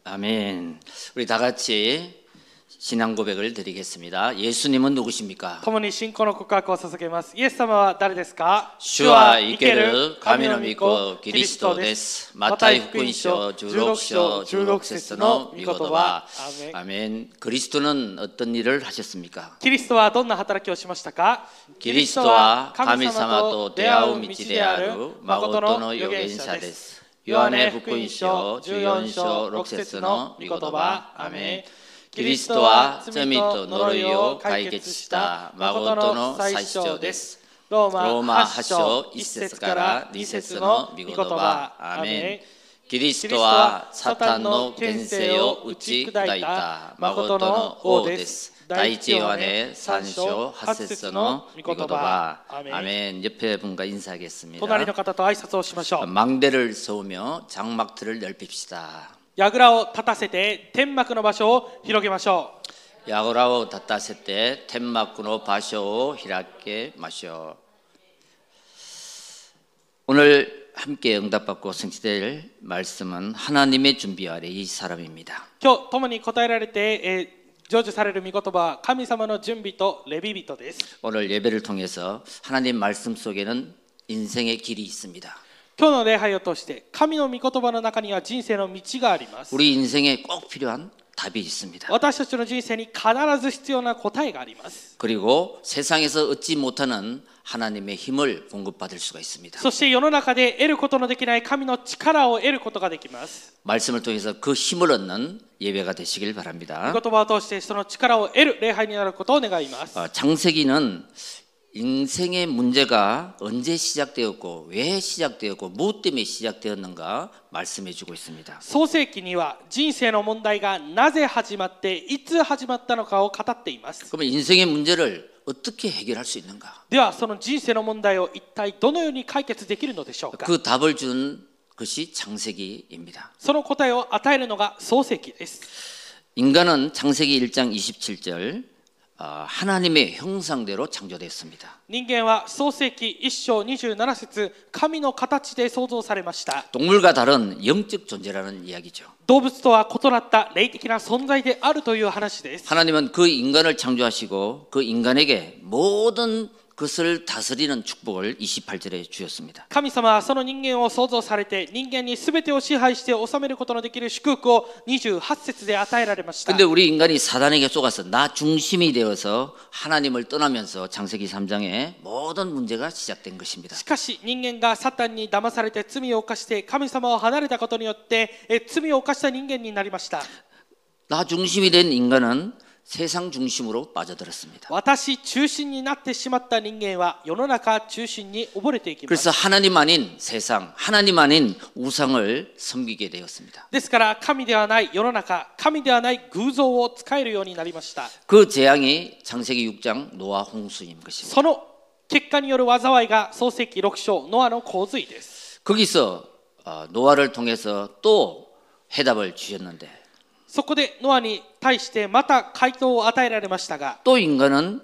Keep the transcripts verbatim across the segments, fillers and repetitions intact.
아멘. 우리 다 같이 신앙 고백을 드리겠습니다. 예수님은 누구십니까? 共に信仰の告白を捧げます。イエス様は誰ですか？ 主は生ける神の御子キリストです。マタイ福音書じゅうろく章じゅうろく節の御言葉。アメン。キリスト는 어떤 일을 하셨습니까? キリストはどんな働きをしましたか？ キリストは神様と出会う道である誠の預言者です。ヨハネ福音書じゅうよん章ろく節の御言葉。アメン。キリストは罪と呪いを解決した誠の最長です。ローマはち章いち節からに節の御言葉。アーメン。キリストはサタンの権勢を打ち砕いた誠の王です。第一ヨハネさん章はち節の御言葉。アーメン。옆에 분과 인사하겠습니다. 隣の方と挨拶をしましょう。 망대를 세우며 장막틀을 넓힙시다. 야그라を立たせて天幕の場所を広げましょう。 야그라を立たせて天幕の場所を開けましょう。 오늘 함께 응답받고 성취될 말씀은 하나님의 준비 아래 이 사람입니다. 今日共に答えられて、えー、成就される御言葉は神様の準備とレビ人です。 오늘 예배를 통해서 하나님 말씀 속에는 인생의 길이 있습니다. 今日の礼拝を通して神の御言葉の中には人生の道があります。 우리 인생에 꼭 필요한 답이 있습니다. 私たちの人生に必ず必要な答えがあります。 그리고 세상에서 얻지 못하는 하나님의 힘을 공급받을 수가 있습니다. そして世の中で得ることのできない神の力を得ることができます。 말씀을 통해서 그 힘을 얻는 예배가 되시길 바랍니다. 御言葉を通してその力を得る礼拝になることを願います。 어, 창세기는 인생의 문제가 언제 시작되었고 왜 시작되었고 무엇 때문에 시작되었는가 말씀해 주고 있습니다. 創世記には人生の問題がなぜ始まっていつ始まったのかを語っています。 그러면 인생의 문제를 어떻게 해결할 수 있는가? ではその人生の問題を一体どのように解決できるのでしょうか。 그 답을 준 것이 창세기입니다. その答えを与えるのが創世記です。 인간은 창세기 일 장 이십칠 절 하나님의 형상대로 창조되었습니다. 人間は創世記いち章にじゅうなな節神の形で創造されました。 동물과 다른 영적 존재라는 이야기죠. 動物とは異なった霊的な存在であるという話です。 하나님은 그 인간을 창조하시고 그 인간에게 모든 것을 다스리는 축복을 이십팔 절에 주셨습니다. 神様はその人間を創造されて人間に全てを支配して治めることのできる祝福をにじゅうはち節で与えられました。 근데 우리 인간이 사단에게 속아서 나 중심이 되어서 하나님을 떠나면서 창세기 삼 장에 모든 문제가 시작된 것입니다. しかし人間がサタンに騙されて罪を犯して神様を離れたことによってえ罪を犯した人間になりました。 나 중심이 된 인간은 세상 중심으로 빠져들었습니다. 私中心になってしまった人間は世の中中心に溺れていきます。 그래서 하나님 아닌 세상, 하나님 아닌 우상을 섬기게 되었습니다. ですから神ではない世の中、神ではない偶像を使えるようになりました。 그 재앙이 창세기 육 장 노아 홍수인 것입니다. その結果による災いが創世記ろく章ノアの洪水です。 거기서 노아를 통해서 또 해답을 주셨는데 そこでノアに対してまた回答を与えられましたが 또 인간은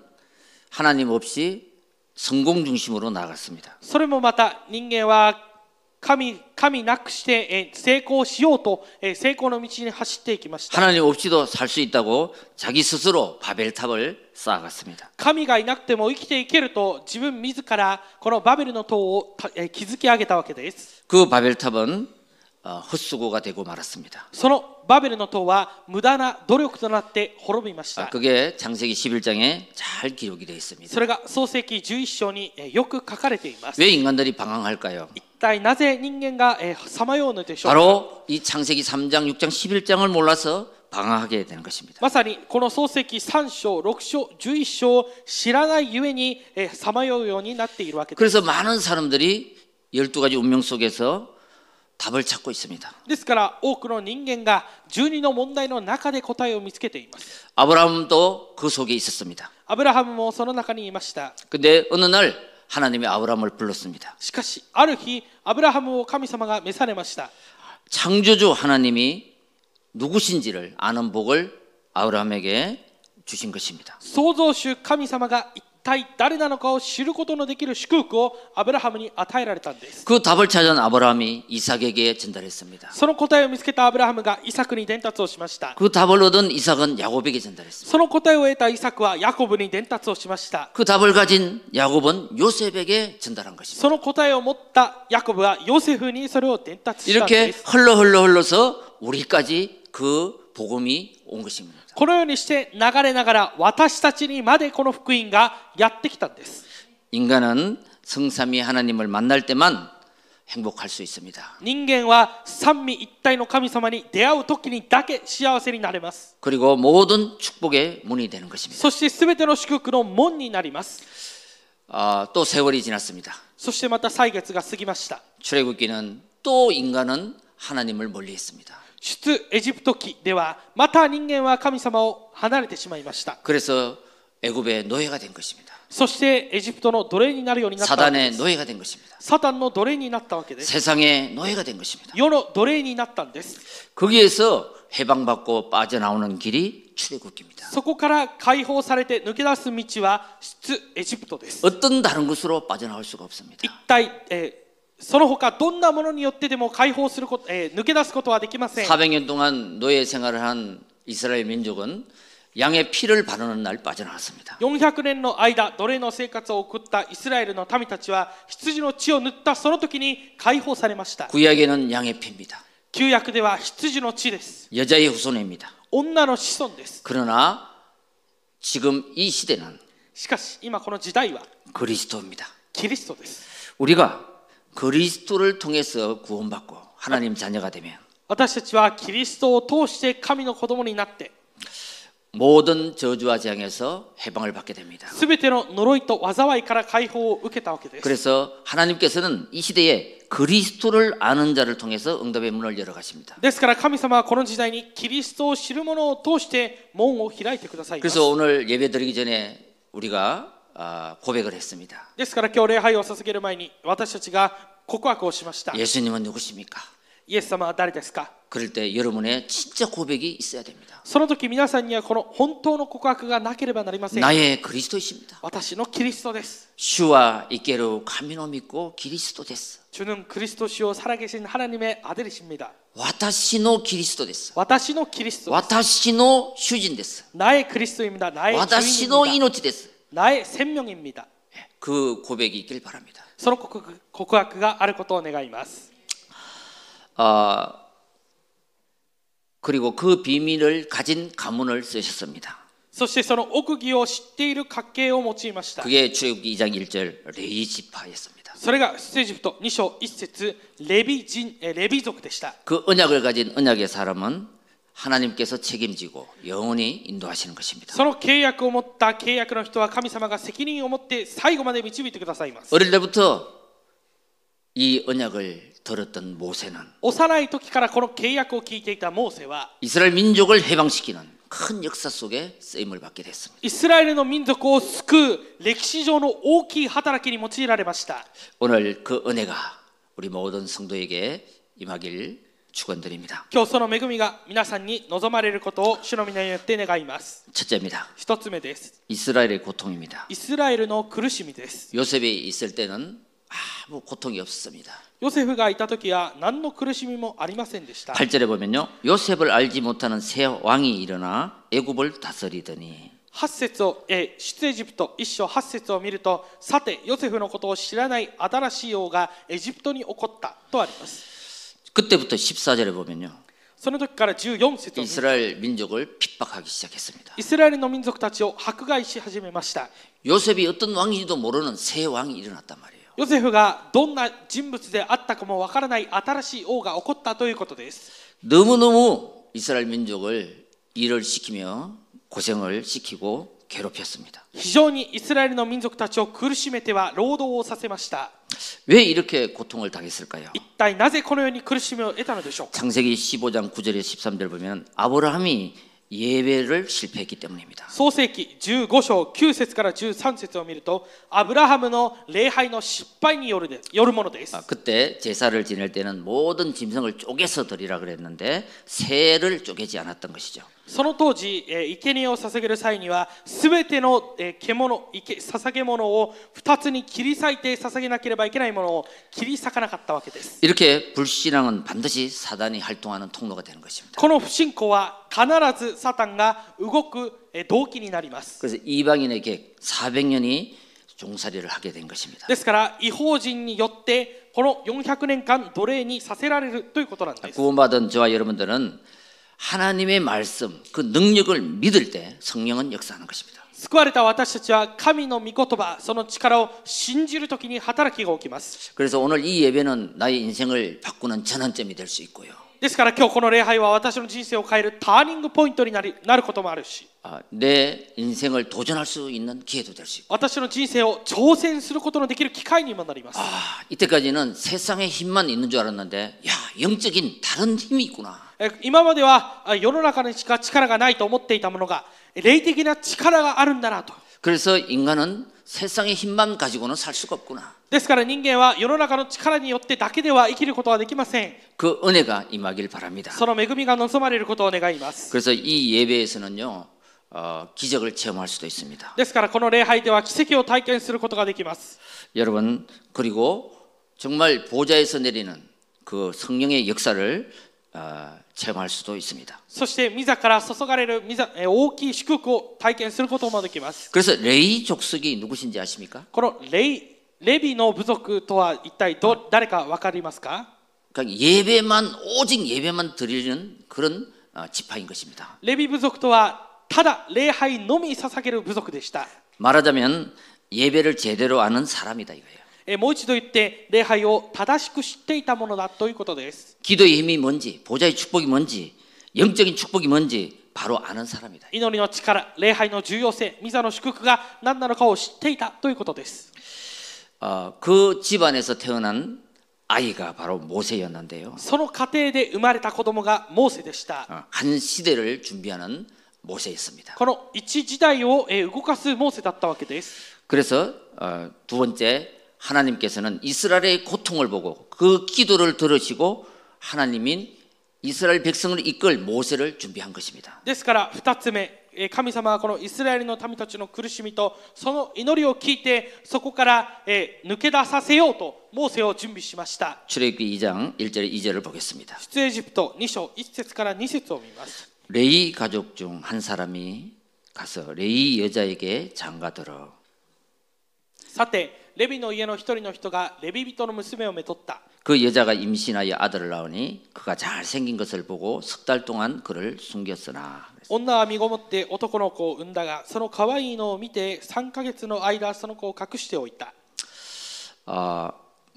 하나님 없이 성공 중심으로 나아갔습니다. それもまた人間は神、神なくして成功しようと成功の道に走っていきました。 하나님 없이도 살 수 있다고 자기 스스로 바벨탑을 쌓아갔습니다. 神がいなくても生きていけると自分自らこのバベルの塔を築き上げたわけです。 그 바벨탑은 헛수고가 되고 말았습니다. そのバベルの塔は無駄な努力となって滅びました。 그게 창세기 십일 장에 잘 기록이 되어 있습니다. それが創世記じゅういち章によく書かれています。 왜 인간들이 방황할까요? 一体なぜ人間がさまようのでしょうか。 바로 이 창세기 삼 장, 육 장, 십일 장을 몰라서 방황하게 되는 것입니다. まさにこの創世記さん章、ろく章、じゅういち章を知らないゆえにさまようようになっているわけです。 그래서 많은 사람들이 열두 가지 운명 속에서 답을 찾고 있습니다. ですから多くの人間がじゅうにの問題の中で答えを見つけています。 아브라함도 그 속에 있었습니다. アブラハムもその中にいました。 근데 어느 날 하나님이 아브라함을 불렀습니다. しかしある日アブラハムを神様が召されました。 창조주 하나님이 누구신지를 아는 복을 아브라함에게 주신 것입니다. 創造主神様が一体誰なのかを知ることのできる祝福をアブラハムに与えられたんです。 그 답을 찾은 아브라함이 이삭에게 전달했습니다. その答えを見つけたアブラハムがイサクに伝達をしました。 그 답을 얻은 이삭은 야곱에게 전달했습니다. その答えを得たイサクはヤコブに伝達をしました。 그 답을 가진 야곱은 요셉에게 전달한 것입니다. その答えを持ったヤコブはヨセフにそれを伝達したん 이렇게 です。 흘러 흘러 흘러서 우리까지 그 복음이 온 것입니다. このようにして流れながら私たちにまでこの福音がやってきたんです。 인간은 성삼위 하나님을 만날 때만 행복할 수 있습니다. 人間は三位一体の神様に出会う時にだけ幸せになれます。 그리고 모든 축복의 문이 되는 것입니다. そしてすべての祝福の門になります。 아, 또 세월이 지났습니다. そしてまた歳月が過ぎました。 출애굽기는 또 인간은 하나님을 멀리했습니다. 出エジプト記ではまた人間は神様を離れてしまいました。 그래서 애굽의 노예가 된 것입니다. そしてエジプトの奴隷になるようになったわけで 사단의 す。 노예가 된 것입니다. サタンの奴隷になったわけです。 세상의 노예가 된 것입니다. 世の奴隷になったんです。 거기에서 해방받고 빠져나오는 길이 출애굽기입니다. そこから解放されて抜け出す道は出エジプトです。 어떤 다른 곳으로 빠져나올 수가 없습니다. 一体、えーその他どんなものによってでも解放すること、えー抜け出すことはできません。 사백 년 동안 노예 생활을 한 이스라엘 민족은 양의 피를 바르는 날 빠져나왔습니다. よんひゃくねんの間奴隷の生活を送ったイスラエルの民たちは羊の血を塗ったその時に解放されました。 구약에는 양의 피입니다. 旧約では羊の血です。 여자의 후손입니다. 女の子孫です。 그러나 지금 이 시대는 しかし今この時代は 그리스도입니다. キリストです。 우리가 그리스도를 통해서 구원받고 하나님 자녀가 되면 私たちはキリストを通して神の子供になって 모든 저주와 재앙에서 해방을 받게 됩니다. すべての呪いと災いから解放を受けたわけです。 그래서 하나님께서는 이 시대에 그리스도를 아는 자를 통해서 응답의 문을 열어 가십니다. ですから神様はこの時代にキリストを知る者を通して門を開いてくださいます。 그래서 오늘 예배 드리기 전에 우리가 고백을 했습니다. ですから今日礼拝を捧げる前に私たちが告白をしました。 예수님은 누구십니까? イエス様は誰ですか？ 그럴 때 여러분의 진짜 고백이 있어야 됩니다. その時皆さんにはこの本当の告白がなければなりません。 나의 그리스도이십니다. 私のキリストです。 주와 있게로 가미노 믿고 그리스도 됐어. 주는 그리스도시요 살아계신 하나님의 아들이십니다. 私の 그리스도 됐어. 私のキリストです。 私の主人됐어. 나의 그리스도입니다. 나의 私の 주인입니다. 命です. 나의 생명입니다. 그 고백이 있길 바랍니다. その告白、告白があることを願います。 어, 그리고 그 비밀을 가진 가문을 쓰셨습니다. そしてその奥義を知っている家系を用いました。 그게 출애굽기 이 장 일 절 레위 지파였습니다. それが出エジプトに章いち節レビ人、レビ族でした。 그 언약을 가진 언약의 사람은 하나님께서 책임지고 영원히 인도하시는 것입니다. その契約を持った契約の人は神様が責任を持って最後まで導いてくださいます。 어릴 때부터 이 언약을 들었던 모세는 幼い時からこの契約を聞いていたモーセは 이스라엘 민족을 해방시키는 큰 역사 속에 쓰임을 받게 됐습니다. イスラエルの民族を救う歴史上の大きい働きに用いられました。 오늘 그 은혜가 우리 모든 성도에게 임하길 축원드립니다. 今日その恵みが皆さんに望まれることを主の皆によって願います。 첫째입니다. 一つ目です。 이스라엘의 고통입니다. イスラエルの苦しみです。 요셉이 있을 때는 아무 고통이 없었습니다. ヨセフがいた時は何の苦しみもありませんでした。 팔 절에 보면요. 요셉을 알지 못하는 새 왕이 일어나 애굽을 다스리더니 はち節を、えー、出エジプトいっ章はち節を見ると、さてヨセフのことを知らない新しい王がエジプトに起こったとあります。 그때부터 십사 절에 보면요. その時からじゅうよん節を見ると 이스라엘 민족을 핍박하기 시작했습니다. イスラエルの民族たちを迫害し始めました。 요셉이 어떤 왕인지도 모르는 새 왕이 일어났단 말이에요. ヨセフがどんな人物であったかもわからない新しい王が起こったということです。 너무너무 이스라엘 민족을 일을 시키며 고생을 시키고 괴롭혔습니다. 非常にイスラエルの民族たちを苦しめては労働をさせました。 왜 이렇게 고통을 당했을까요? 一体なぜこのように苦しみを得たのでしょうか。 창세기 십오 장 구 절에 십삼 절 보면 아브라함이 예배를 실패했기 때문입니다. 創世記じゅうご章きゅう節からじゅうさん節を見ると、アブラハムの礼拝の失敗によるでよるものです。 아, 그때 제사를 지낼 때는 모든 짐승을 쪼개서 드리라 그랬는데 새를 쪼개지 않았던 것이죠. その当時、えー、生贄を捧げる際には、すべての、えー、獣、捧げ物を二つに切り裂いて捧げなければいけないものを切り裂かなかったわけです。 이렇게 불신앙은 반드시 사단이 활동하는 통로가 되는 것입니다. この不信仰は必ずサタンが動く、えー、動機になります。 그래서 이방인에게 사백 년이 종살이를 하게 된 것입니다. ですから異邦人によってこのよんひゃくねんかん奴隷にさせられるということなんです。 구원받은 저와 여러분들은 하나님의 말씀, 그 능력을 믿을 때 성령은 역사하는 것입니다. 救われた私たちは神の御言葉、その力を信じるときに働きが起きます。 그래서 오늘 이 예배는 나의 인생을 바꾸는 전환점이 될 수 있고요. ですから今日この礼拝は私の人生を変えるターニングポイントになり、なることもあるし、 아, 내 인생을 도전할 수 있는 기회도 될 수 있고. 私の人生を挑戦することのできる機会にもなります。 아, 이때까지는 세상의 힘만 있는 줄 알았는데, 야, 영적인 다른 힘이 있구나. 今までは世の中にしか力がないと思っていたものが霊的な力があるんだなと。 그래서 인간은 세상의 힘만 가지고는 살 수가 없구나. ですから人間は世の中の力によってだけでは生きることはできません。 그 은혜가 임하길 바랍니다. その恵みが望まれることを願います。 그래서 이 예배에서는요, 어, 기적을 체험할 수도 있습니다. ですからこの礼拝では奇跡を体験することができます。 여러분, 그리고 정말 보좌에서 내리는 그 성령의 역사를 어, 체험할 수도 있습니다. そして御座から注がれる御座、大きい祝福を体験することもできます。 그래서 레위 족속이 누구신지 아십니까? このレイレビの部族とは一体ど誰か分かりますか？ 그러니까 예배만 오직 예배만 드리는 그런 어, 지파인 것입니다. レビ部族とはただ礼拝のみ捧げる部族でした。 말하자면 예배를 제대로 아는 사람이다 이거예요. もう一度言って礼拝を正しく知っていたものだということです。 기도의 힘이 뭔지, 보좌의 축복이 뭔지, 영적인 축복이 뭔지 바로 아는 사람이다. 祈りの力、礼拝の重要性、御座の祝福が何なのかを知っていたということです。 어, 그 집안에서 태어난 아이가 바로 모세였는데요. その家庭で生まれた子供がモーセでした。 어, 한 시대를 준비하는 모세였습니다. この一時代を動かすモーセだったわけです。 그래서 어, 두 번째 하나님께서는 이스라엘의 고통을 보고 그 기도를 들으시고 하나님인 이스라엘 백성을 이끌 모세를 준비한 것입니다. ですから二つ目、神様はこのイスラエルの民たちの苦しみとその祈りを聞いてそこから抜け出させようとモーセを準備しました。 출애굽기 이 장 일 절 이 절을 보겠습니다. 出エジプトに章いち節からに節を見ます。 레위 가족 중 한 사람이 가서 레위 여자에게 장가들어 さてレビの家の一人の人がレビ人の娘をめとった。 그 여자가 임신하여 아들을 낳으니 그가 잘생긴 것을 보고 석 달 동안 그를 숨겼으나 女は身ごもって男の子を産んだがその可愛いのを見てさんかげつの間その子を隠しておいた。 어,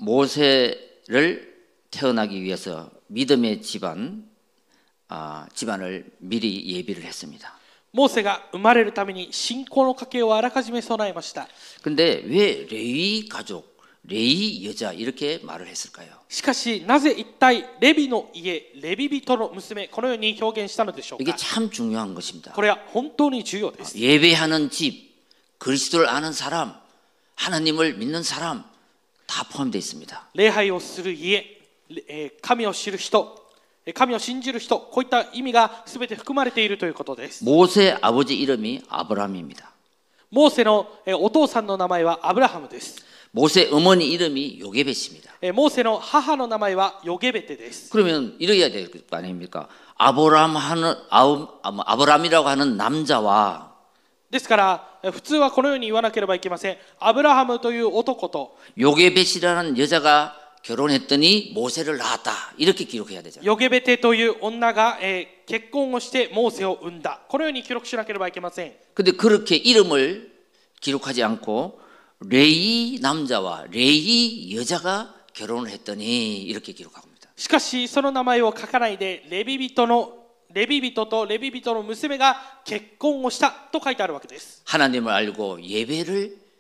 모세를 태어나기 위해서 믿음의 집안 어, 집안을 미리 예비를 했습니다. モーセが生まれるために信仰の家系をあらかじめ備えました。 근데 왜 레위 가족, 레위 여자 이렇게 말을 했을까요? しかしなぜ一体レビの家、レビ人の娘このように表現したのでしょう 이게 か。 참 중요한 것입니다. これは本当に重要です。 예배하는 집, 그리스도를 아는 사람, 하나님을 믿는 사람 다 포함되어 있습니다. 礼拝をする家、神を知る人、神を信じる人、こういった意味がすべて含まれているということです。 모세 아버지 이름이 아브라함입니다. モーセのお父さんの名前はアブラハムです。 모세 어머니 이름이 요게벳입니다. モーセの母の名前はヨゲベテです。 그러면 이래야 될 거 아닙니까? 아브라함 하는 아브라함이라고 하는 남자와 ですから普通はこのように言わなければいけません。アブラハムという男と 요게벳이라는 여자가 결혼했더니 모세를 낳았다. 이렇게 기록해야 되잖아요. ヨゲベテという女が、えー、結婚をしてモーセを産んだ。このように記録しなければいけません。 근데 그렇게 이름을 기록하지 않고 레위 남자와 레위 여자가 결혼을 했더니 이렇게 기록합니다. しかしその名前を書かないでレビ人のレビ人とレビ人の娘が結婚をしたと書いてあるわけです。 하나님을 알고 예배를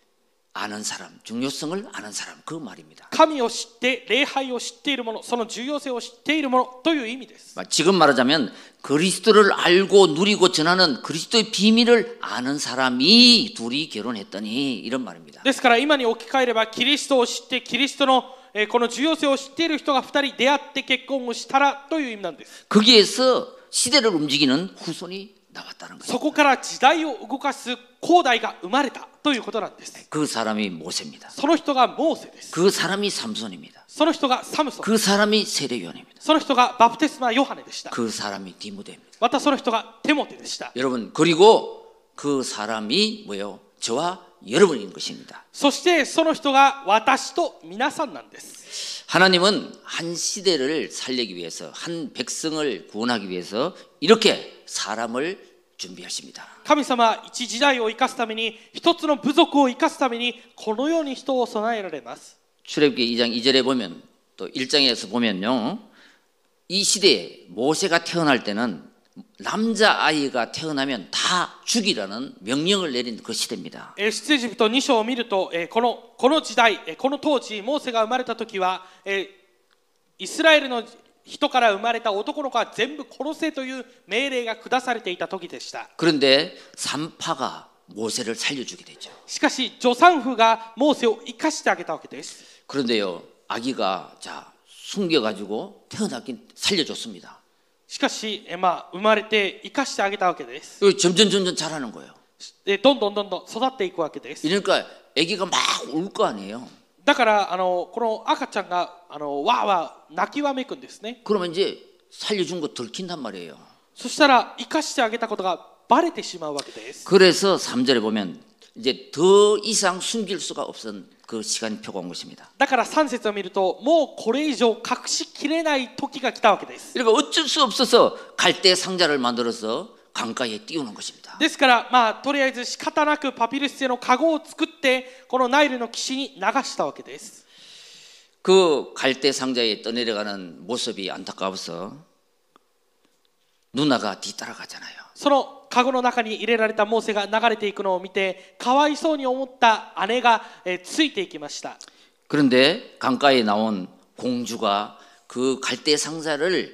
아는 사람, 중요성을 아는 사람 그 말입니다. 神を知って礼拝を知っている者、その重要性を知っている者という意味です。 지금 말하자면 그리스도를 알고 누리고 전하는 그리스도의 비밀을 아는 사람이 둘이 결혼했더니 이런 말입니다. ですから今に置き換えればキリストを知ってキリストのえーこの重要性を知っている人がふたり出会って結婚をしたらという意味なんです。 거기에서 시대를 움직이는 후손이 나왔다는 거예요. そこから時代を動かす後代が生まれたということなんです。 그 사람이 모세입니다. その人がモーセです。 그 사람이 삼손입니다. その人がサムソン。 그 사람이 세례요한입니다. その人がバプテスマヨハネでした。 그 사람이 디모데입니다. またその人がテモテでした。 여러분 그리고 그 사람이 뭐예요? 저와 여러분인 것입니다. そしてその人が私と皆さんなんです。 하나님은 한 시대를 살리기 위해서 한 백성을 구원하기 위해서 이렇게 사람을 준비하십니다. 神様は一時代を生かすために一つの部族を生かすためにこのように人を備えられます。 출애굽기 이 장 이 절에 보면 또 일 장에서 보면요. 이 시대에 모세가 태어날 때는 남자아이가 태어나면 다 죽이라는 명령을 내린 그 시대입니다. 出エジプトに章を見るとこのこの時代この当時モーセが生まれた時はイスラエルの人から生まれた男の子は全部殺せという命令が下されていた時でした。 그런데 산파가 모세를 살려주게 되죠. しかし助産婦がモーセを生かしてあげたわけです。 그런데요, 아기가 자 숨겨가지고 태어나긴 살려줬습니다. しかし、まあ、生まれて生かしてあげたわけです。 점점 점점 자라는 거예요. どんどんどんどん育っていくわけです。 그러니까 아기가 막 울 거 아니에요. だからあのこの赤ちゃんがあのわーわー泣きわめくんですね。 그러면 이제 살려준 거 들킨단 말이에요. そしたら生かしてあげたことがバレてしまうわけです。 그래서 삼 절에 보면 이제 더 이상 숨길 수가 없은 그 시간표가 온 것입니다. だからさん節を見るともうこれ以上隠しきれない時が来たわけです。 그러니까 어쩔 수 없어서 갈대 상자를 만들어서 강가에 띄우는 것입니다. ですからまあとりあえず仕方なくパピルス製の籠を作ってこのナイルの岸に流したわけです。 그 갈대 상자에 떠내려가는 모습이 안타까워서 누나가 뒤따라가잖아요. その籠の中に入れられたモーセが流れていくのを見てかわいそうに思った姉がついていきました。 그런데 강가에 나온 공주가 그 갈대 상자를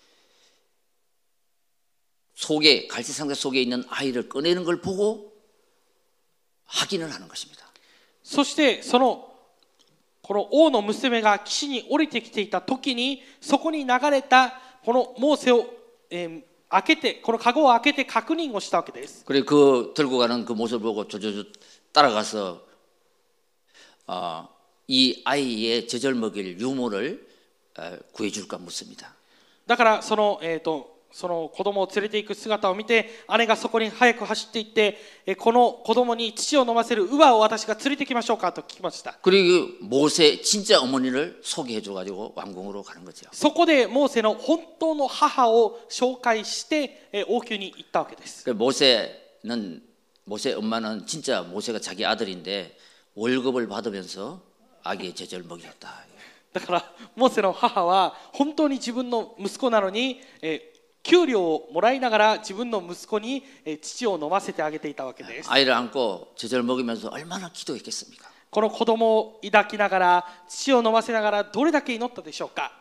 속에 갈대 상자 속에 있는 아이를 꺼내는 걸 보고 확인을 하는 것입니다. そしてそのこの王の娘が岸に降りてきていた時にそこに流れたこのモーセを、えー、開けてこの籠を開けて確認をしたわけです。 그래 그 들고 가는 그 모습을 보고 조조조 따라가서 어, 이 아이의 젖을 먹일 유모를 어, 구해줄까 묻습니다. だからそのえっとその子供を連れていく姿を見て姉がそこに早く走っていってこの子供に乳を飲ませる乳母を私が連れてきましょうかと聞きました。 그리고 모세 진짜 어머니를 소개해줘 가지고 왕궁으로 가는 거죠. そこでモーセの本当の母を紹介して王宮に行ったわけです。 모세는 모세 엄마는 진짜 모세가 자기 아들인데 월급을 받으면서 아기의 젖을 먹였다. だからモーセの母は本当に自分の息子なのにえ給料をもらいながら自分の息子に乳を飲ませてあげていたわけです。 아이를 안고 젖을 먹이면서 얼마나 기도했겠습니까? この子供を抱きながら乳を飲ませながらどれだけ祈ったでしょうか。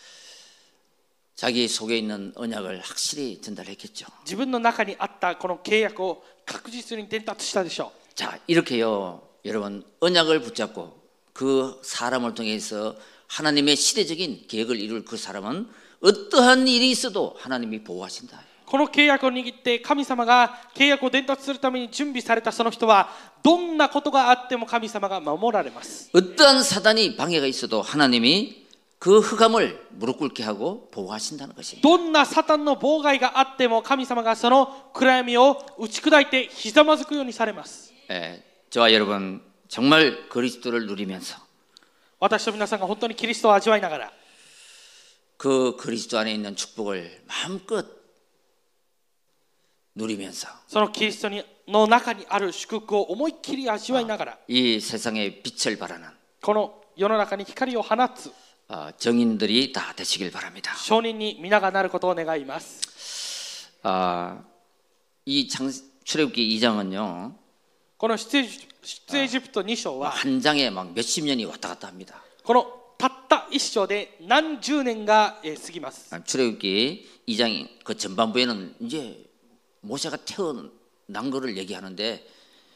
자기 속에 있는 언약을 확실히 전달했겠죠. 自分の中にあったこの契約を確実に伝達したでしょう。 자, 이렇게요. 여러분 언약을 붙잡고 그 사람을 통해서 하나님의 시대적인 계획을 이룰 그 사람은 어떠한 일이 있어도 하나님이 보호하신다. この契約を握って神様が契約を伝達するために準備されたその人はどんなことがあっても神様が守られます。 어떠한 사단이 방해가 있어도 하나님이 그 흑암을 무릎 꿇게 하고 보호하신다는 것입니다. どんなサタンの妨害があっても神様がその暗闇を打ち砕いてひざまずくようにされます。 예, 저와 여러분 정말 그리스도를 누리면서 私と皆さんが本当にキリストを味わいながら 그 그리스도 안에 있는 축복을 마음껏 누리면서 そのキリストの中にある祝福を思いっきり味わいながら 이 세상에 빛을 발하는 この世の中に光を放つ 정인들이 다 되시길 바랍니다. 証人に皆がなることを願います。 아, 이 장, 출애굽기 이 장은요. この出エジ出エジプトに章は 한 장에 막 몇십 년이 왔다 갔다 합니다. このたった一章で何十年がえー過ぎます。 출애굽기 이 장 그 전반부에는 이제 모세가 태어난 거를 얘기하는데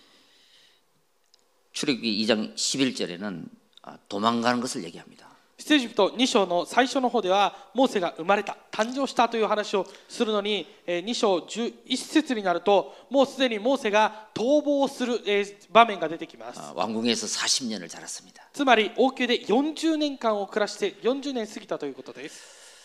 출애굽기 이 장 십일 절에는 도망가는 것을 얘기합니다. 出エジプトに章の最初の方ではモーセが生まれた誕生したという話をするのに、えー、に章じゅういち節になるともうすでにモーセが逃亡する、えー、場面が出てきます。 왕궁에서 사십 년을 자랐습니다. つまり王宮でよんじゅうねんかんを暮らしてよんじゅうねん過ぎたということです。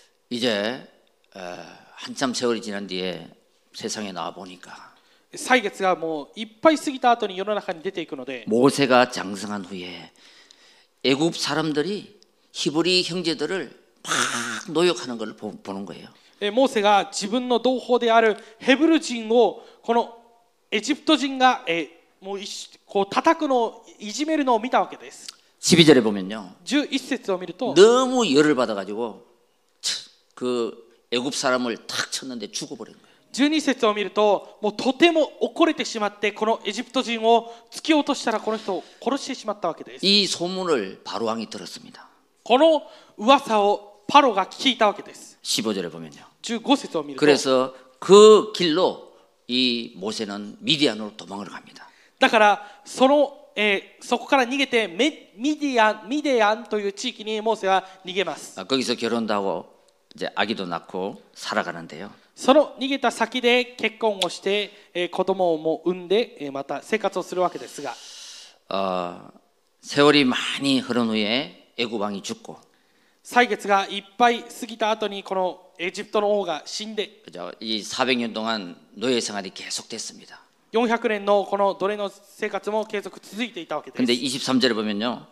이제 어, 한참 세월이 지난 뒤에 세상에 나와 보니까 歳月がもういっぱい過ぎた後に世の中に出ていくので 모세가 장성한 후에 애굽 사람들이 히브리 형제들을 막 노역하는 걸 보는 거예요. モーセが自分の同胞であるヘブル人をこのエジプト人がえもうこう叩くのをいじめるのを見たわけです。 십이 절에 보면요. じゅういち節を見ると 너무 열을 받아 가지고 그 애굽 사람을 탁 쳤는데 죽어버린 거예요. じゅうに節を見るともうとても怒れてしまってこのエジプト人を突き落としたらこの人を殺してしまったわけです。 이 소문을 바로 왕이 들었습니다. この噂をパロが聞いたわけです。 십오 절에 보면요. じゅうご節を見ると 그래서 그 길로 이 모세는 미디안으로 도망을 갑니다. だからその、えー、そこから逃げてメミディアンミデアンという地域にモーセは逃げます。 아, 거기서 결혼도 하고 이제 아기도 낳고 살아가는데요. その逃げた先で結婚をして、えー、子供をも産んで、えー、また生活をするわけですが、 어, 세월이 많이 흐른 후에 애굽 왕이 죽고 歳月がいっぱい過ぎた後にこのエジプトの王が死んで 그죠? 이 사백 년 동안 노예 생활이 계속됐습니다. よんひゃくねんのこの奴隷の生活も継続続いていたわけです。 근데 이십삼 절에 보면요.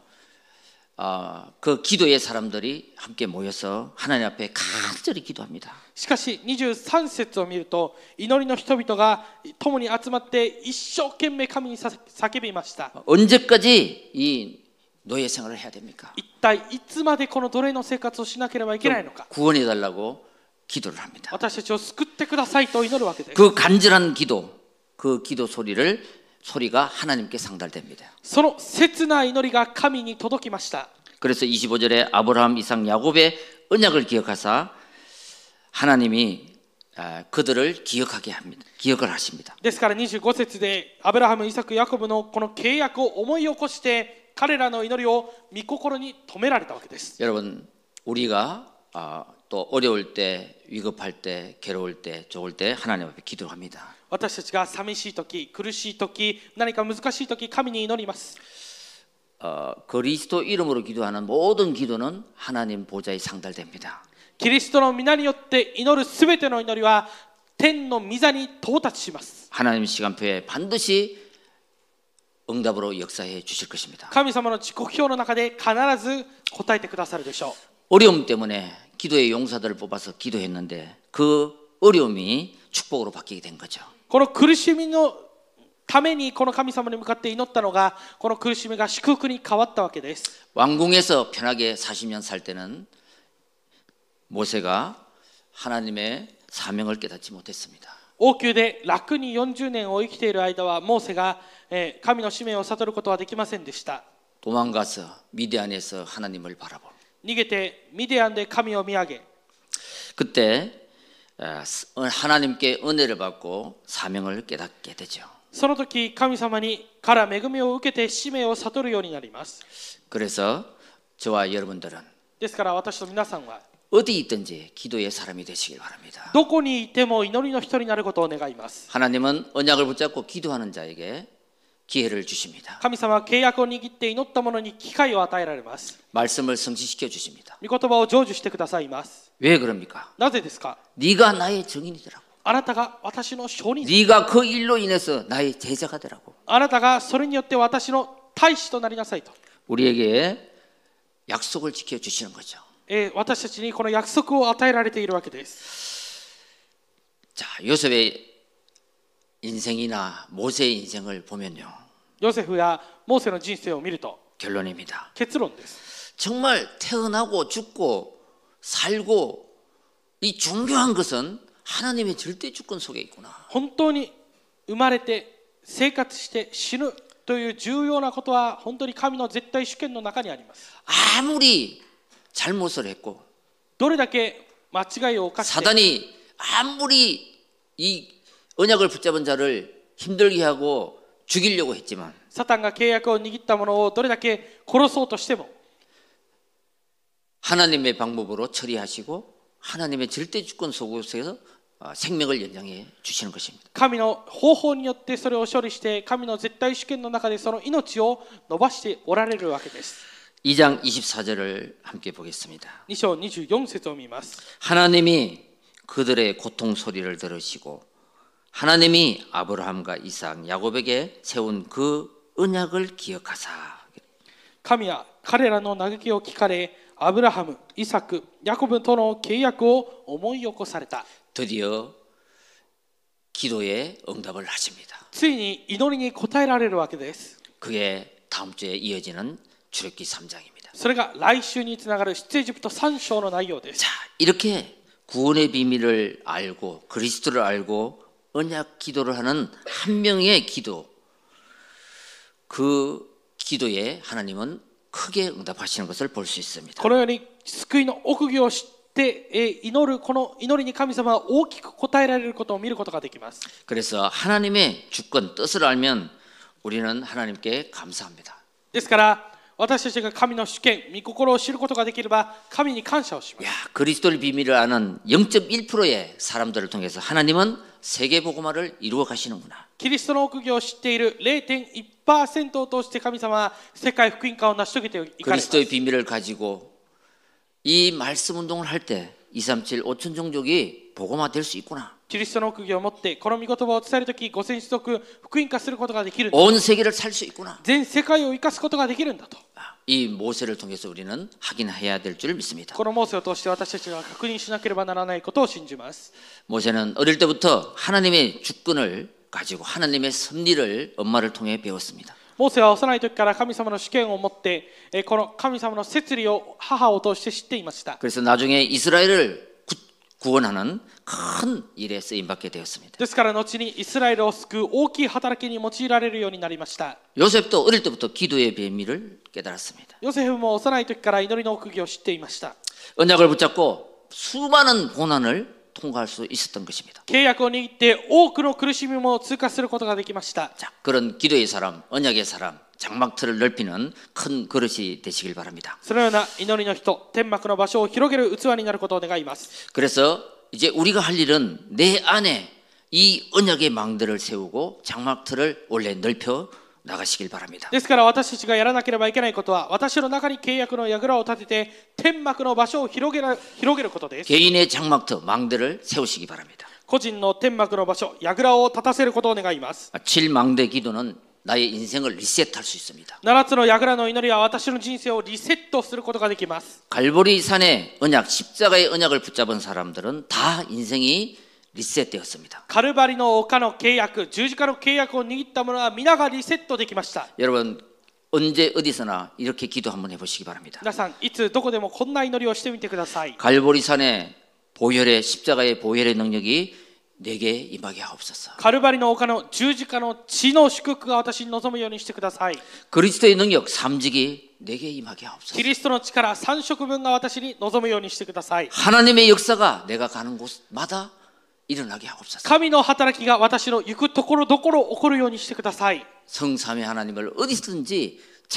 어, 그 기도의 사람들이 함께 모여서 하나님 앞에 간절히 기도합니다. しかしにじゅうさん節を見ると祈りの人々が共に集まって一生懸命神に叫びました。 언제까지 이 노예 생활을 해야 됩니까? 一体いつまでこの奴隷の生活をしなければいけないのか。 구원해 달라고 기도를 합니다. 私たちを救ってくださいと祈るわけです。 그 간절한 기도, 그 기도 소리를 소리가 하나님께 상달됩니다. その切な祈りが神に届きました。 그래서 이십오 절에 아브라함, 이삭, 야곱의 언약을 기억하사 하나님이 그들을 기억하게 합니다. 기억을 하십니다. ですからにじゅうご節でアブラハム、イサク、ヤコブのこの契約を思い起こして彼らの祈りを御心に留められたわけです。 여러분, 우리가 또 어려울 때, 위급할 때, 괴로울 때, 좋을 때 하나님 앞에 기도합니다. 私たちが寂しい時、苦しい時、何か難しい時、神に祈ります。 어, 그리스도 이름으로 기도하는 모든 기도는 하나님 보좌에 상달됩니다. キリストの皆によって祈るすべての祈りは天の御座に到達します。 하나님 시간표에 반드시 응답으로 역사해 주실 것입니다. 神様の時刻表の中で必ず答えてくださるでしょう。 어려움 때문에 기도의 용사들을 뽑아서 기도했는데 그 어려움이 축복으로 바뀌게 된 거죠. この苦しみのためにこの神様に向かって祈ったのがこの苦しみが祝福に変わったわけです。 왕궁에서 편하게 사십 년 살 때는 모세가 하나님의 사명을 깨닫지 못했습니다. 王宮で楽によんじゅうねんを生きている間はモーセが神の使命を悟ることはできませんでした。 도망가서 미디안에서 하나님을 바라보고 逃げてミディアンで神を見上げ 그때 하나님께 은혜를 받고 사명을 깨닫게 되죠. その時神様にから恵みを受けて使命を悟るようになります。 그래서 저와 여러분들은 ですから私と皆さんは 어디 있든지 기도의 사람이 되시길 바랍니다. どこにいても祈りの人になることを願います。 하나님은 언약을 붙잡고 기도하는 자에게 기회를 주십니다. 神様は契約を握って祈った者に機会を与えられます。 말씀을 성취시켜 주십니다. 御言葉を成就してくださいます。 왜 그럽니까? なぜですか？ 네가 나의 증인이더라고. あなたが私の証人。 네가 그 일로 인해서 나의 제자가 되라고. あなたがそれによって私の大使となりなさいと。 우리에게 약속을 지켜 주시는 거죠. えー、私たちにこの約束を与えられているわけです。 자, 요셉의 인생이나 모세의 인생을 보면요. ヨセフやモーセの人生を見ると 결론입니다. 結論です。 정말 태어나고 죽고 살고 이 중요한 것은 하나님의 절대 주권 속에 있구나. 本当に生まれて生活して死ぬという重要なことは本当に神の絶対主権の中にあります。 아무리 잘못을 했고 どれだけ間違いを犯して 사단이 아무리 이 언약을 붙잡은 자를 힘들게 하고 죽이려고 했지만 サタンが契約を握ったものをどれだけ殺そうとしても 하나님의 방법으로 처리하시고 하나님의 절대 주권 속에서 생명을 연장해 주시는 것입니다. 神の方法によってそれを処理して神の絶対主権の中でその命を伸ばしておられるわけです。 이 장 이십사 절을 함께 보겠습니다. に章にじゅうよん節を見ます。 하나님이 그들의 고통 소리를 들으시고 하나님이 아브라함과 이삭, 야곱에게 세운 그 언약을 기억하사 神は彼らの嘆きを聞かれ、アブラハム、イサク、ヤコブとの契約を思い起こされた。 드디어 기도에 응답을 하십니다. ついに祈りに応えられるわけです。 그게 다음 주에 이어지는 출애굽기 삼 장입니다. それが来週につながる出エジプトさん章の内容です。 자, 이렇게 구원의 비밀을 알고 그리스도를 알고 언약 기도를 하는 한 명의 기도, 그 기도에 하나님은 크게 응답하시는 것을 볼 수 있습니다. このように救いの奥義を知って祈るこの祈りに神様は大きく応えられることを見ることができます。 그래서 하나님의 주권, 뜻을 알면 우리는 하나님께 감사합니다. ですから私たちが神の主権、御心を知ることができれば神に感謝をします。 야, 그리스도의 비밀을 아는 영 점 일 퍼센트의 사람들을 통해서 하나님은 세계 복음화를 이루어 가시는구나. キリストの奥義を知っている ゼロてんいちパーセント を通して神様は世界福音化を成し遂げていかれます。 그리스도의 비밀을 가지고 이 말씀 운동을 할 때 이삼칠 오천 종족이 복음화될 수 있구나. キリストの奥義を持ってこの御言葉を伝えるとき、五千種族福音化することができる。 온 세계를 살 수 있구나. 全世界を生かすことができるんだと。 이 모세를 통해서 우리는 확인해야 될 줄 믿습니다. このモーセを通して私たちが確認しなければならないことを信じます。 모세는 어릴 때부터 하나님의 주권을 가지고 하나님의 섭리를 엄마를 통해 배웠습니다. モーセは幼い時から神様の主権を持ってこの神様の摂理を母を通して知っていました。 그래서 나중에 이스라엘을 구, 구원하는 큰 일에 쓰임받게 되었습니다. ですから後にイスラエルを救う大きい働きに用いられるようになりました。 요셉도 어릴 때부터 기도의 비밀을 깨달았습니다. ヨセフも幼い時から祈りの奥義を知っていました。 언약을 붙잡고 수많은 고난을 통과할 수 있었던 것입니다. 契約を握って多くの苦しみも通過することができました。 자, 그런 기도의 사람, 언약의 사람, 장막틀을 넓히는 큰 그릇이 되시길 바랍니다. そのような祈りの人、天幕の場所を広げる器になることを願います。 그래서 이제 우리가 할 일은 내 안에 이 언약의 망대를 세우고 장막틀을 원래 넓혀 나가시길 바랍니다. ですから私たちがやらなければいけないことは、私の中に契約の櫓を立てて天幕の場所を広げる、広げることです。 개인의 장막터, 망대를 세우시기 바랍니다. 個人の天幕の場所、櫓を立たせることを願います。 칠 망대 기도는 나의 인생을 리셋할 수 있습니다. ななつの櫓の祈りは私の人生をリセットすることができます。 갈보리 산의 언약, 십자가의 언약을 붙잡은 사람들은 다 인생이 리셋되었습니다. カルバリの丘の契約、十字架の契約を握った者は皆がリセットできました。 여러분 언제 어디서나 이렇게 기도 한번 해보시기 바랍니다. 皆さん、いつどこでもこんな祈りをしてみてください。 갈보리 산의 보혈의 십자가의 보혈의 능력이 내게 임하게 하옵소서. カルバリの丘の十字架の血の祝福が私に望むようにしてください。 그리스도의 능력 삼직이 내게 임하게 하옵소서. キリストの力三食分が私に望むようにしてください。 하나님의 역사가 내가 가는 곳마다 일어나게 하옵소서. 神の働きが私の行くところどころ起こるようにしてください。 성삼위 하나님을 어디든지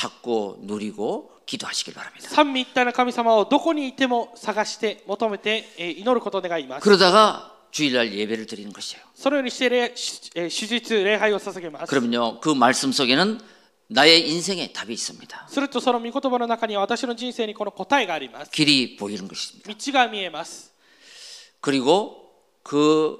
찾고 누리고 기도하시길 바랍니다. 三位一体の神様をどこにいても探して求めて祈ることを願います。 그러다가 주일날 예배를 드리는 것이에요. そのようにして礼手術礼拝を捧げます。 그러면요 그 말씀 속에는 나의 인생에 답이 있습니다. するとその御言葉の中には私の人生にこの答えがあります。 길이 보이는 것입니다. 道が見えます。 그리고 그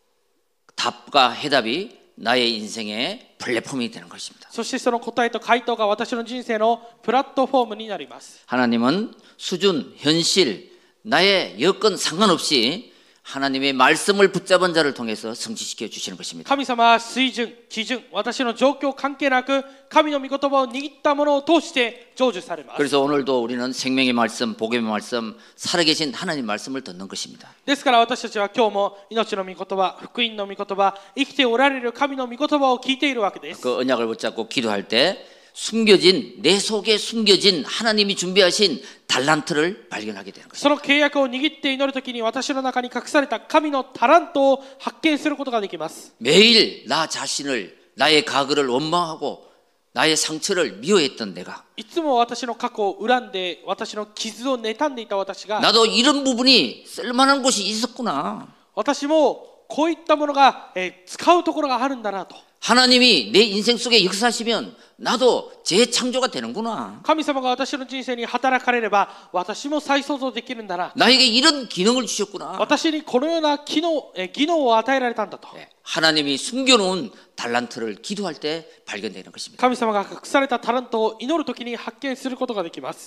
답과 해답이 나의 인생의 플랫폼이 되는 것입니다. そしてその答えと回答が私の人生のプラットフォームになります。 하나님은 수준, 현실, 나의 여건 상관없이 하나님의 말씀을 붙잡은 자를 통해서 성취시켜 주시는 것입니다. 神様は水準、基準、私の状況関係なく神の御言葉を握ったものを通して成就されます。 그래서 오늘도 우리는 생명의 말씀, 복음의 말씀, 살아계신 하나님 말씀을 듣는 것입니다. ですから私たちは今日も命の御言葉、福音の御言葉、生きておられる神の御言葉を聞いているわけです。 그 언약을 붙잡고 기도할 때 숨겨진 내 속에 숨겨진 하나님이 준비하신 달란트를 발견하게 되는 것입니다. その契約を握って祈るときに私の中に隠された神のタラントを発見することができます。 매일 나 자신을 나의 과거를 원망하고 나의 상처를 미워했던 내가 いつも私の過去を恨んで私の傷を妬んでいた私が 나도 이런 부분이 쓸만한 곳이 있었구나. 私もこういったものが、えー、使うところがあるんだなと 하나님이 내 인생 속에 역사하시면 나도 재창조가 되는구나. 神様が私の人生に働かれれば私も再創造できるんだな 나에게 이런 기능을 주셨구나. 私にこのような機能、えー、技能を与えられたんだと 하나님이 숨겨놓은 달란트를 기도할 때 발견되는 것입니다. 神様が隠されたタラントを祈るときに発見することができます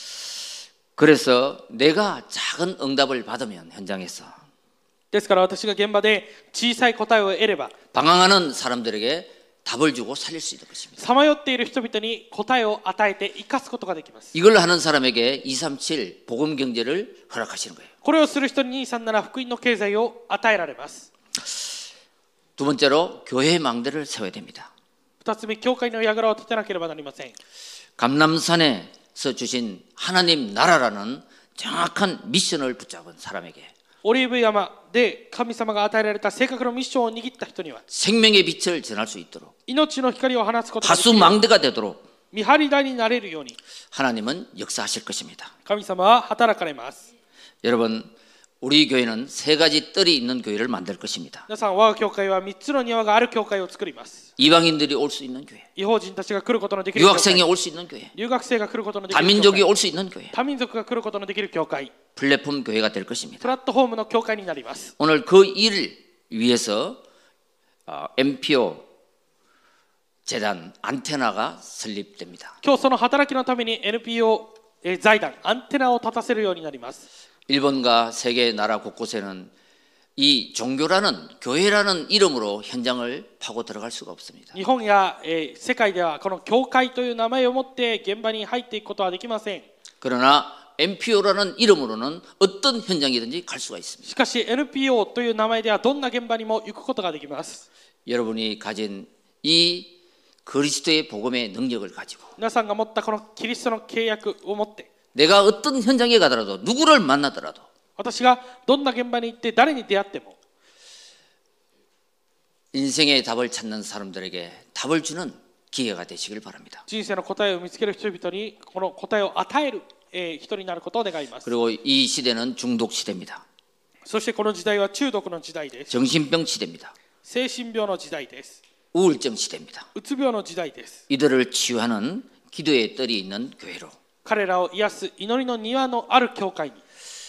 그래서 내가 작은 응답을 받으면 현장에서 ですから私が現場で小さい答えを得れば 방황하는 사람들에게 답을 주고 살릴 수 있는 것입니다. さまよっている人々に答えを与えて生かすことができます 이걸 하는 사람에게 이백삼십칠 복음 경제를 허락하시는 거예요. これをする人ににひゃくさんじゅうなな福音の経済を与えられます 두 번째로 교회의 망대를 세워야 됩니다. 二つ目、教会の櫓を立てなければなりません 감람산에서 주신 하나님 나라라는 정확한 미션을 붙잡은 사람에게 オリーブ山で神様が与えられた正確なミッションを握った人には 생명의 빛을 전할 수 있도록 命の光を放つことができ 하수 る 망대가 되도록 見張り台になれるように 하나님은 역사하실 것입니다. 神様は働かれます 여러분, 우리 교회는 세 가지 뜰이 있는 교회를 만들 것입니다. 皆さん、我が教会はみっつの庭がある教会を作ります 이방인들이 올 수 있는 교회, 異邦人たちが来ることのできる教会 유학생이 올 수 있는 교회, 留学生が来ることのできる教 다민족이 会 올 수 있는 교회, 多民族が来ることのできる教会 플랫폼 교회가 될 것입니다. プラットフォームの教会になります 오늘 그 일을 위해서 엠피오 재단 안테나가 설립됩니다. 今日その働きのために エヌピーオー 財団アンテナを立たせるようになります 일본과 세계 나라 곳곳에는 이 종교라는 교회라는 이름으로 현장을 파고 들어갈 수가 없습니다. 日本や、えー、世界ではこの教会という名前を持って現場に入っていくことはできません 그러나 엠피오라는 이름으로는 어떤 현장이든지 갈 수가 있습니다. しかし エヌピーオー という名前ではどんな現場にも行くことができます 여러분이 가진 이 그리스도의 복음의 능력을 가지고 皆さんが持ったこのキリストの契約を持って 내가 어떤 현장에 가더라도 누구를 만나더라도 私がどんな現場に行って誰に出会っても 인생의 답을 찾는 사람들에게 답을 주는 기회가 되시길 바랍니다. 人生の答えを見つける人々にこの答えを与える、えー、人になることを願います 그리고 이 시대는 중독 시대입니다. そしてこの時代は中毒の時代です 정신병 시대입니다. 精神病の時代です 우울증 시대입니다. うつ病の時代です 이들을 치유하는 기도의 뜰이 있는 교회로 彼らを癒す祈りの庭のある教会に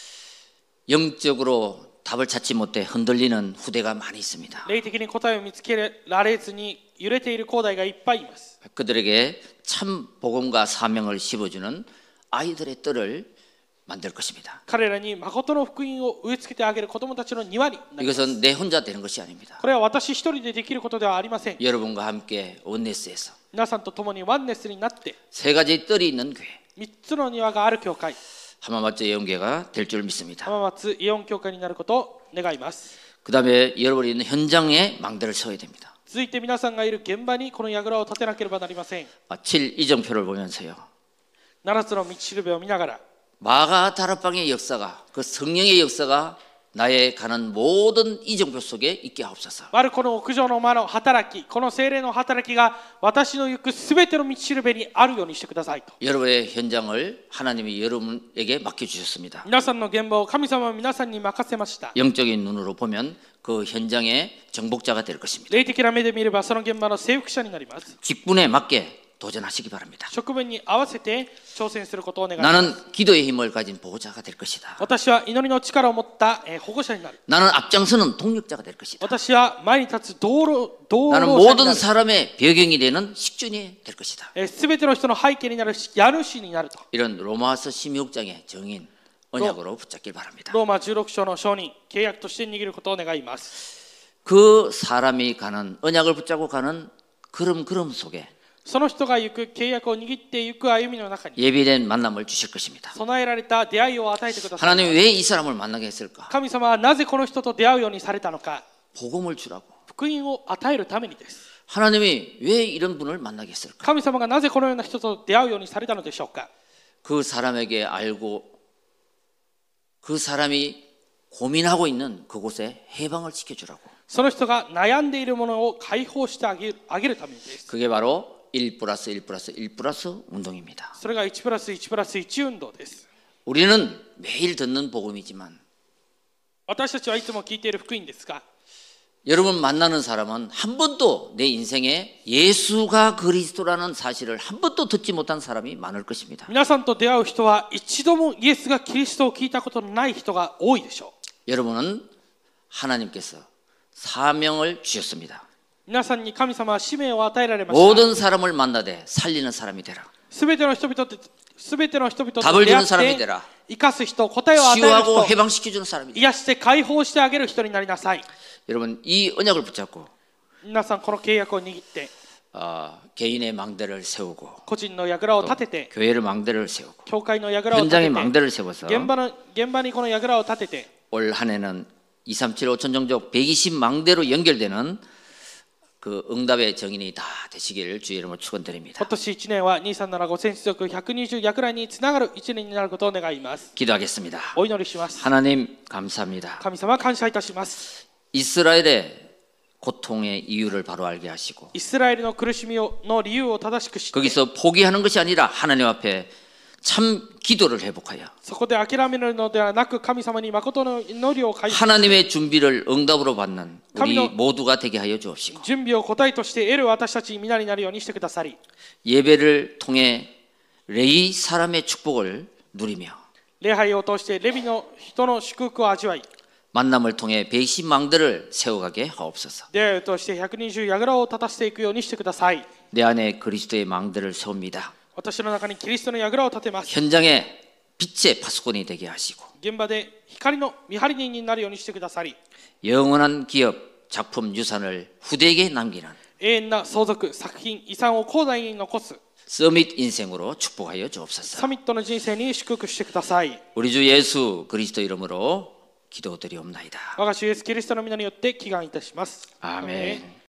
영적으로 답을 찾지 못해 흔들리는 후대가 많이 있습니다. 霊的に答えを見つけられずに揺れている後代がいっぱいいます 그들에게 참 복음과 사명을 씹어주는 아이들의 뜰을 만들 것입니다. 彼らに誠の福音を植え付けてあげる子供たちの庭になります 이것은 내 혼자 되는 것이 아닙니다. これは私一人でできることではありません 여러분과 함께 원네스에서 皆さんと共にワンネスになって 세 가지 뜰이 있는 교회 みっつの庭がある教会浜松예언교회가 될 줄 믿습니다. 浜松イオン教会になることを願います 그 다음에 여러분이 있는 현장에 망대를 세워야 됩니다. 続いて皆さんがいる現場にこの櫓を立てなければなりません 칠 이정표를 보면서요. ななつの道しるべを見ながら 마가 다락방의 역사가 그 성령의 역사가 나의 가는 모든 이정표 속에 있게 하옵소서. マルコの屋上の間の働きこの聖霊の働きが私の行くすべての道しるべにあるようにしてくださいと 여러분의 현장을 하나님이 여러분에게 맡겨주셨습니다. 皆さんの現場を神様は皆さんに任せました 영적인 눈으로 보면 그 현장의 정복자가 될 것입니다. 霊的な目で見ればその現場の征服者になります 직분에 맞게 도전하시기 바랍니다. 職分に合わせて挑戦することを願います 나는 기도의 힘을 가진 보호자가 될 것이다. 私は祈りの力を持った保護者になる 나는 앞장서는 동력자가 될 것이다. 私は前に立つ道路道 나는 路者にな 모든 る 사람의 배경이 되는 식준이 될 것이다. すべての人の背景になる家主になると 이런 로마서 십육 장의 정인 언약으로 붙잡길 바랍니다. ローマじゅうろく章の証人、契約として握ることを願います。 그 사람이 가는 언약을 붙잡고 가는 걸음걸음 속에 その人が行く契約を握っていく歩みの中に 예비된 만남을 주실 것입니다. 備えられた出会いを与えてください。 하나님이 왜 이 사람을 만나게 했을까? 神様はなぜこの人と出会うようにされたのか。 복음을 주라고. 福音を与えるためにです。 하나님이 왜 이런 분을 만나게 했을까? 神様がなぜこのような人と出会うようにされたのでしょうか。 그 사람에게 알고 그 사람이 고민하고 있는 그곳에 해방을 시켜주라고. その人が悩んでいるものを解放してあげる、あげるためにです。 그게 바로 일 플러스 일 플러스 일 플러스 운동입니다. それがいちプラスいちプラスいち運動です。 우리는 매일 듣는 복음이지만 私たちはいつも聞いている福音ですが、 여러분 만나는 사람은 한 번도 내 인생에 예수가 그리스도라는 사실을 한 번도 듣지 못한 사람이 많을 것입니다. 皆さんと出会う人は一度もイエスがキリストを聞いたことのない人が多いでしょう。 여러분은 하나님께서 사명을 주셨습니다. 皆さんに神様は使命を与えられました。 모든 사람을 만나되 살리는 사람이 되라. すべての人々とすべての人々と 답을 出 주는 会 사람이 って 되라. 生かす人、答えを与える 치유하고 人、 해방시켜주는 사람이 되라. 癒して解放してあげる人になりなさい。 여러분 이 언약을 붙잡고 皆さんこの契約を握って 어, 개인의 망대를 세우고 個人の櫓を立てて 교회를 망대를 세우고 教会の櫓を立 현장에 てて 망대를 세워서 現場の現場にこの櫓を立てて 올 한해는 이, 삼, 칠, 오천 종족 백이십 망대로 연결되는 그 응답의 정인이 다 되시기를 주의 이름으로 축원드립니다. 今年いちねんはにさんななごせん種族ひゃくにじゅう櫓につながるいちねんになることを願います。 기도하겠습니다. お祈りします。 하나님 감사합니다. 神様感謝いたします。 이스라엘의 고통의 이유를 바로 알게 하시고 イスラエルの苦しみをの理由を正しく知って 거기서 포기하는 것이 아니라 하나님 앞에 참 기도를 회복하여 そこで諦めるのではなく神様に誠の祈りを回復 하나님의 준비를 응답으로 받는 우리 감독- 모두가 되게 하여 주옵시고 準備を答えとして得る私たち皆になるようにしてくださり 예배를 통해 레위 사람의 축복을 누리며 礼拝を通してレビの人の祝福を味わい 만남을 통해 백십 망대를 세워가게 하옵소서. 出会いを通してひゃくにじゅう櫓を立たせていくようにしてください。 내 안에 그리스도의 망대를 세웁니다. 私の中にキリストの櫓を立てます。 현장에 빛의 파수꾼이 되게 하시고 現場で光の見張り人になるようにしてくださり 영원한 기업, 작품, 유산을 후대에게 남기는 永遠な相続、作品、遺産を後代に残す 서밋 인생으로 축복하여 주옵소서. サミットの人生に祝福してください。 우리 주 예수 그리스도 이름으로 기도드리옵나이다. 我が主イエスキリストの皆によって祈願いたします。 아멘.